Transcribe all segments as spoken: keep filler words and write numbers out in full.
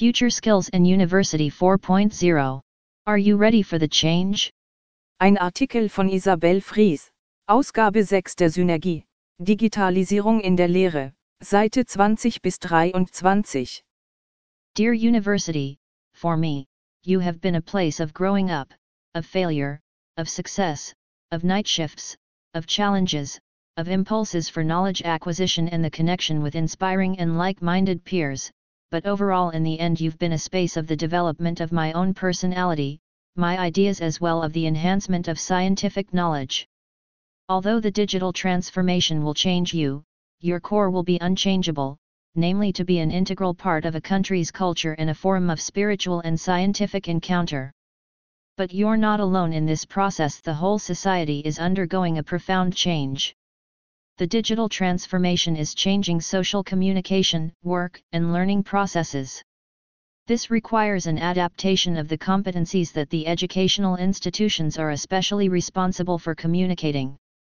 Future Skills and University four point oh. Are you ready for the change? Ein Artikel von Isabel Fries. Ausgabe sechs der Synergie. Digitalisierung in der Lehre. Seite zwanzig bis dreiundzwanzig. Dear University, for me, you have been a place of growing up, of failure, of success, of night shifts, of challenges, of impulses for knowledge acquisition and the connection with inspiring and like-minded peers, but overall in the end you've been a space of the development of my own personality, my ideas as well of the enhancement of scientific knowledge. Although the digital transformation will change you, your core will be unchangeable, namely to be an integral part of a country's culture and a forum of spiritual and scientific encounter. But you're not alone in this process. The whole society is undergoing a profound change. The digital transformation is changing social communication, work, and learning processes. This requires an adaptation of the competencies that the educational institutions are especially responsible for communicating.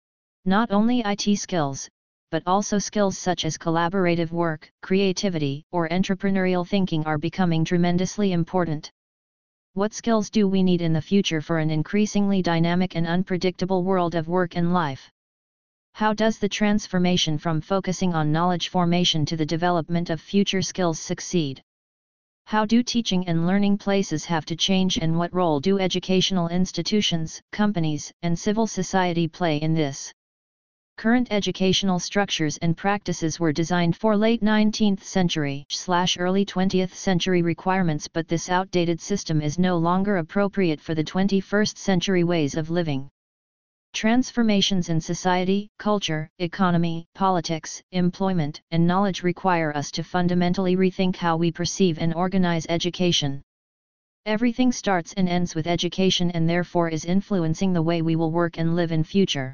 Not only I T skills, but also skills such as collaborative work, creativity, or entrepreneurial thinking are becoming tremendously important. What skills do we need in the future for an increasingly dynamic and unpredictable world of work and life? How does the transformation from focusing on knowledge formation to the development of future skills succeed? How do teaching and learning places have to change, and what role do educational institutions, companies, and civil society play in this? Current educational structures and practices were designed for late nineteenth century slash early twentieth century requirements, but this outdated system is no longer appropriate for the twenty-first century ways of living. Transformations in society, culture, economy, politics, employment, and knowledge require us to fundamentally rethink how we perceive and organize education. Everything starts and ends with education and therefore is influencing the way we will work and live in future.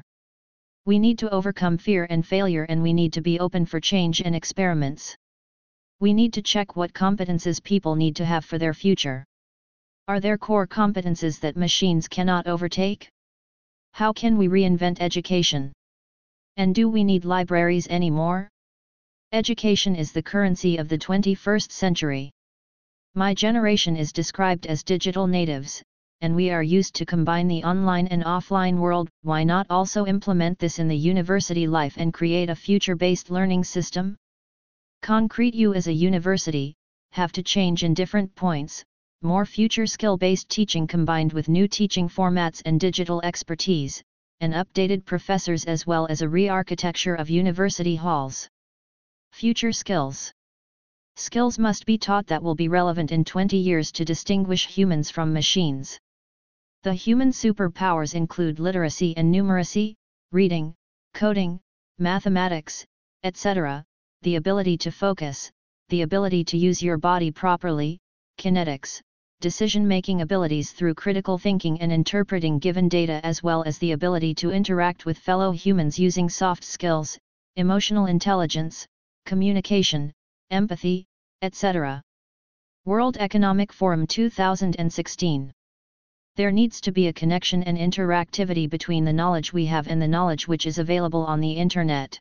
We need to overcome fear and failure, and we need to be open for change and experiments. We need to check what competences people need to have for their future. Are there core competences that machines cannot overtake? How can we reinvent education? And do we need libraries anymore? Education is the currency of the twenty-first century. My generation is described as digital natives, and we are used to combine the online and offline world. Why not also implement this in the university life and create a future-based learning system? Concrete, you as a university have to change in different points. More future skill-based teaching combined with new teaching formats and digital expertise, and updated professors, as well as a re-architecture of university halls. Future skills. Skills must be taught that will be relevant in twenty years to distinguish humans from machines. The human superpowers include literacy and numeracy, reading, coding, mathematics, et cetera, the ability to focus, the ability to use your body properly, kinetics, decision-making abilities through critical thinking and interpreting given data, as well as the ability to interact with fellow humans using soft skills, emotional intelligence, communication, empathy, et cetera. World Economic Forum two thousand sixteen. There needs to be a connection and interactivity between the knowledge we have and the knowledge which is available on the Internet.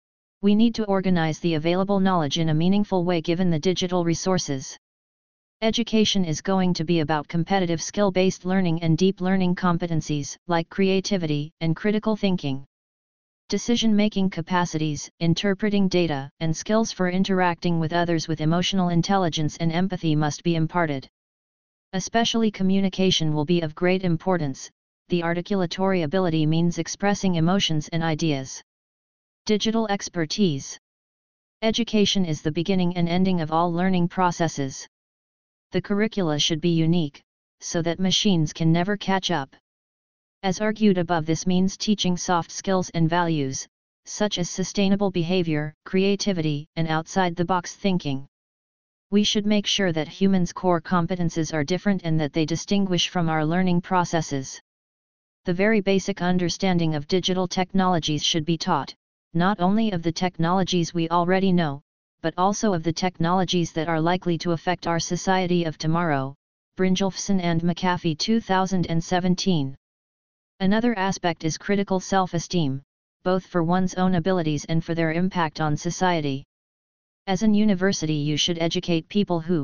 We need to organize the available knowledge in a meaningful way given the digital resources. Education is going to be about competitive skill-based learning and deep learning competencies, like creativity and critical thinking. Decision-making capacities, interpreting data, and skills for interacting with others with emotional intelligence and empathy must be imparted. Especially communication will be of great importance. The articulatory ability means expressing emotions and ideas. Digital expertise. Education is the beginning and ending of all learning processes. The curricula should be unique, so that machines can never catch up. As argued above, this means teaching soft skills and values, such as sustainable behavior, creativity, and outside-the-box thinking. We should make sure that humans' core competences are different and that they distinguish from our learning processes. The very basic understanding of digital technologies should be taught, not only of the technologies we already know, but also of the technologies that are likely to affect our society of tomorrow. Brynjolfsson and McAfee two thousand seventeen. Another aspect is critical self-esteem, both for one's own abilities and for their impact on society. As an university, you should educate people who,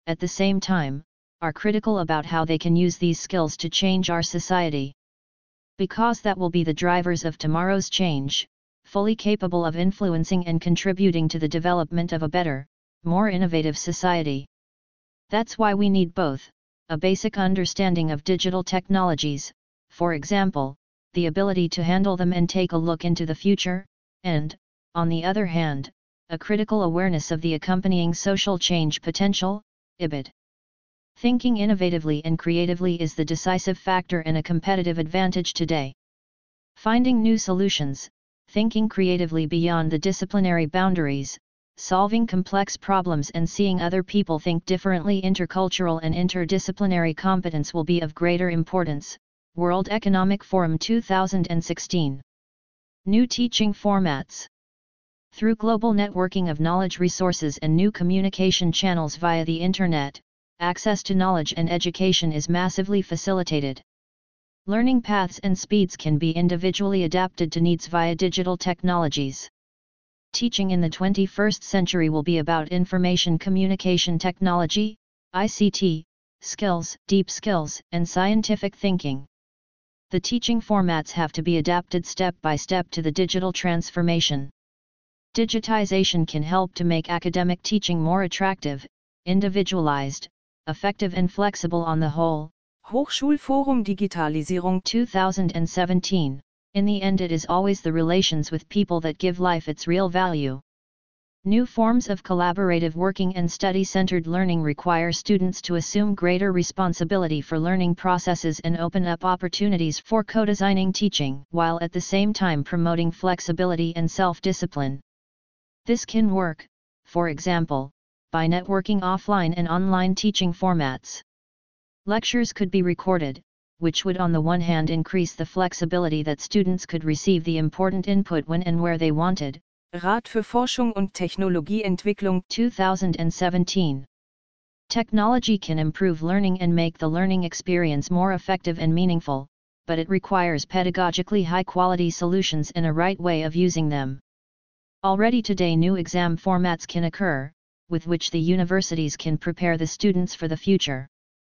at the same time, are critical about how they can use these skills to change our society. Because that will be the drivers of tomorrow's change, fully capable of influencing and contributing to the development of a better, more innovative society. That's why we need both, a basic understanding of digital technologies, for example, the ability to handle them and take a look into the future, and, on the other hand, a critical awareness of the accompanying social change potential, I B I D. Thinking innovatively and creatively is the decisive factor and a competitive advantage today. Finding new solutions, thinking creatively beyond the disciplinary boundaries, solving complex problems and seeing other people think differently, intercultural and interdisciplinary competence will be of greater importance. World Economic Forum two thousand sixteen. New teaching formats. Through global networking of knowledge resources and new communication channels via the Internet, access to knowledge and education is massively facilitated. Learning paths and speeds can be individually adapted to needs via digital technologies. Teaching in the twenty-first century will be about information communication technology, I C T, skills, deep skills, and scientific thinking. The teaching formats have to be adapted step by step to the digital transformation. Digitization can help to make academic teaching more attractive, individualized, effective and flexible on the whole. Hochschulforum Digitalisierung two thousand seventeen. In the end, it is always the relations with people that give life its real value. New forms of collaborative working and study-centered learning require students to assume greater responsibility for learning processes and open up opportunities for co-designing teaching, while at the same time promoting flexibility and self-discipline. This can work, for example, by networking offline and online teaching formats. Lectures could be recorded, which would on the one hand increase the flexibility that students could receive the important input when and where they wanted. Rat für Forschung und Technologieentwicklung two thousand seventeen. Technology can improve learning and make the learning experience more effective and meaningful, but it requires pedagogically high-quality solutions and a right way of using them. Already today new exam formats can occur, with which the universities can prepare the students for the future.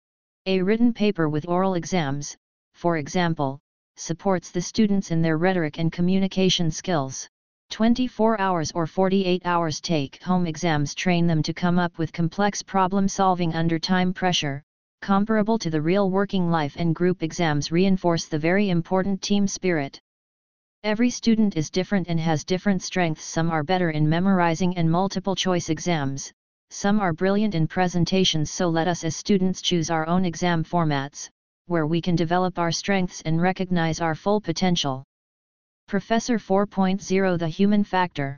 A written paper with oral exams, for example, supports the students in their rhetoric and communication skills. twenty-four hours or forty-eight hours take-home exams train them to come up with complex problem-solving under time pressure, comparable to the real working life, and group exams reinforce the very important team spirit. Every student is different and has different strengths. Some are better in memorizing and multiple-choice exams, some are brilliant in presentations, so let us as students choose our own exam formats, where we can develop our strengths and recognize our full potential. Professor four point oh The Human Factor.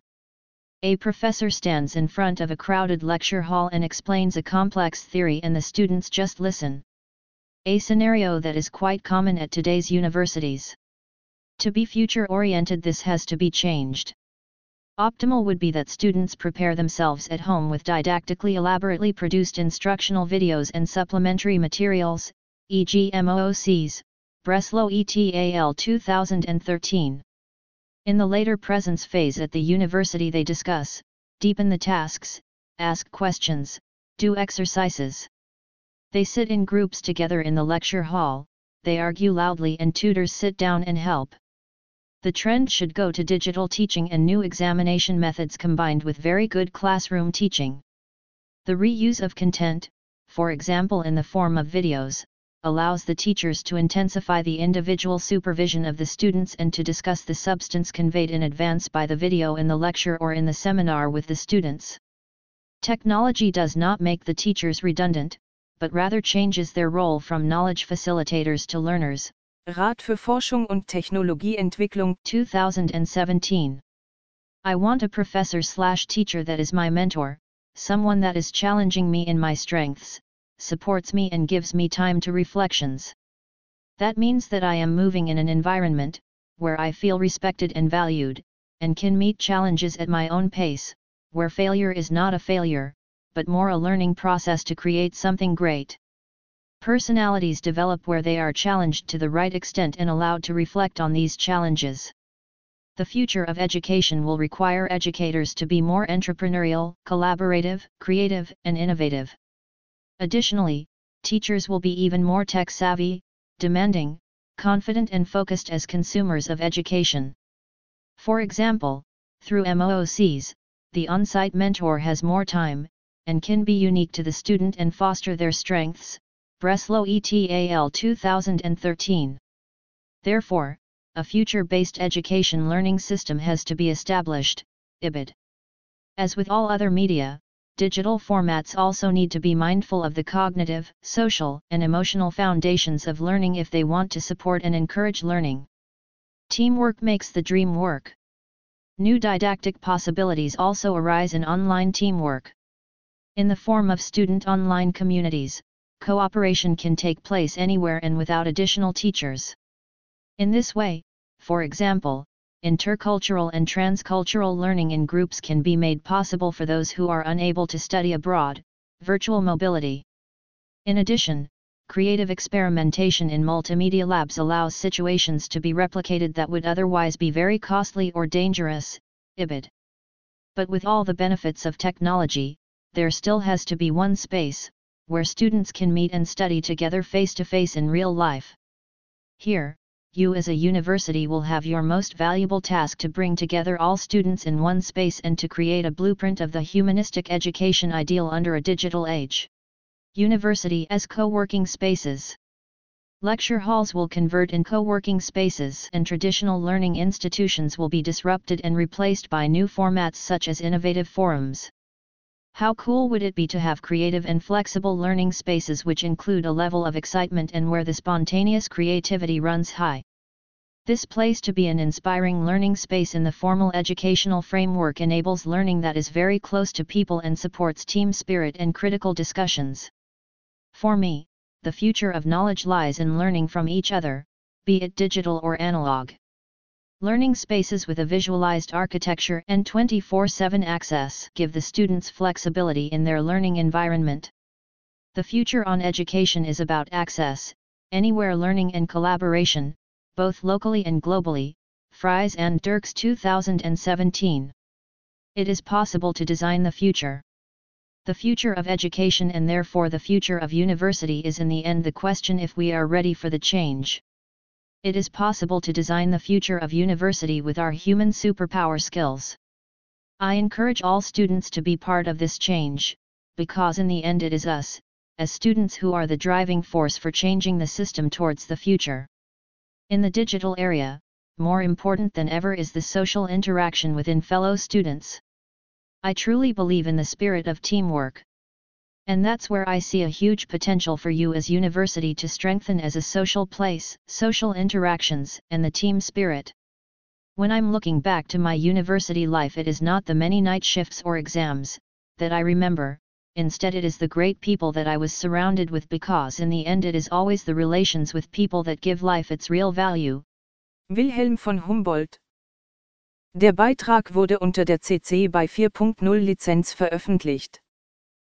A professor stands in front of a crowded lecture hall and explains a complex theory, and the students just listen. A scenario that is quite common at today's universities. To be future-oriented, this has to be changed. Optimal would be that students prepare themselves at home with didactically elaborately produced instructional videos and supplementary materials, for example M O O Cs, Breslow et al. two thousand thirteen. In the later presence phase at the university they discuss, deepen the tasks, ask questions, do exercises. They sit in groups together in the lecture hall, they argue loudly and tutors sit down and help. The trend should go to digital teaching and new examination methods combined with very good classroom teaching. The reuse of content, for example in the form of videos, allows the teachers to intensify the individual supervision of the students and to discuss the substance conveyed in advance by the video in the lecture or in the seminar with the students. Technology does not make the teachers redundant, but rather changes their role from knowledge facilitators to learners. Rat für Forschung und Technologieentwicklung two thousand seventeen. I want a professor slash teacher that is my mentor, someone that is challenging me in my strengths, supports me and gives me time to reflections. That means that I am moving in an environment, where I feel respected and valued, and can meet challenges at my own pace, where failure is not a failure, but more a learning process to create something great. Personalities develop where they are challenged to the right extent and allowed to reflect on these challenges. The future of education will require educators to be more entrepreneurial, collaborative, creative, and innovative. Additionally, teachers will be even more tech-savvy, demanding, confident and focused as consumers of education. For example, through M O O Cs, the on-site mentor has more time, and can be unique to the student and foster their strengths. Breslau et al. two thousand thirteen. Therefore, a future-based education learning system has to be established, I B I D. As with all other media, digital formats also need to be mindful of the cognitive, social, and emotional foundations of learning if they want to support and encourage learning. Teamwork makes the dream work. New didactic possibilities also arise in online teamwork. In the form of student online communities, cooperation can take place anywhere and without additional teachers. In this way, for example, intercultural and transcultural learning in groups can be made possible for those who are unable to study abroad, virtual mobility. In addition, creative experimentation in multimedia labs allows situations to be replicated that would otherwise be very costly or dangerous, I B I D. But with all the benefits of technology, there still has to be one space, where students can meet and study together face-to-face in real life. Here, you as a university will have your most valuable task to bring together all students in one space and to create a blueprint of the humanistic education ideal under a digital age. University as co-working spaces. Lecture halls will convert in co-working spaces and traditional learning institutions will be disrupted and replaced by new formats such as innovative forums. How cool would it be to have creative and flexible learning spaces which include a level of excitement and where the spontaneous creativity runs high? This place to be an inspiring learning space in the formal educational framework enables learning that is very close to people and supports team spirit and critical discussions. For me, the future of knowledge lies in learning from each other, be it digital or analog. Learning spaces with a visualized architecture and twenty-four seven access give the students flexibility in their learning environment. The future on education is about access, anywhere learning and collaboration, both locally and globally, Fries and Dirks two thousand seventeen. It is possible to design the future. The future of education and therefore the future of university is in the end the question if we are ready for the change. It is possible to design the future of university with our human superpower skills. I encourage all students to be part of this change, because in the end it is us, as students who are the driving force for changing the system towards the future. In the digital area, more important than ever is the social interaction within fellow students. I truly believe in the spirit of teamwork. And that's where I see a huge potential for you as university to strengthen as a social place, social interactions, and the team spirit. When I'm looking back to my university life, it is not the many night shifts or exams that I remember, instead it is the great people that I was surrounded with, because in the end it is always the relations with people that give life its real value. Wilhelm von Humboldt. Der Beitrag wurde unter der C C B Y vier Punkt null Lizenz veröffentlicht.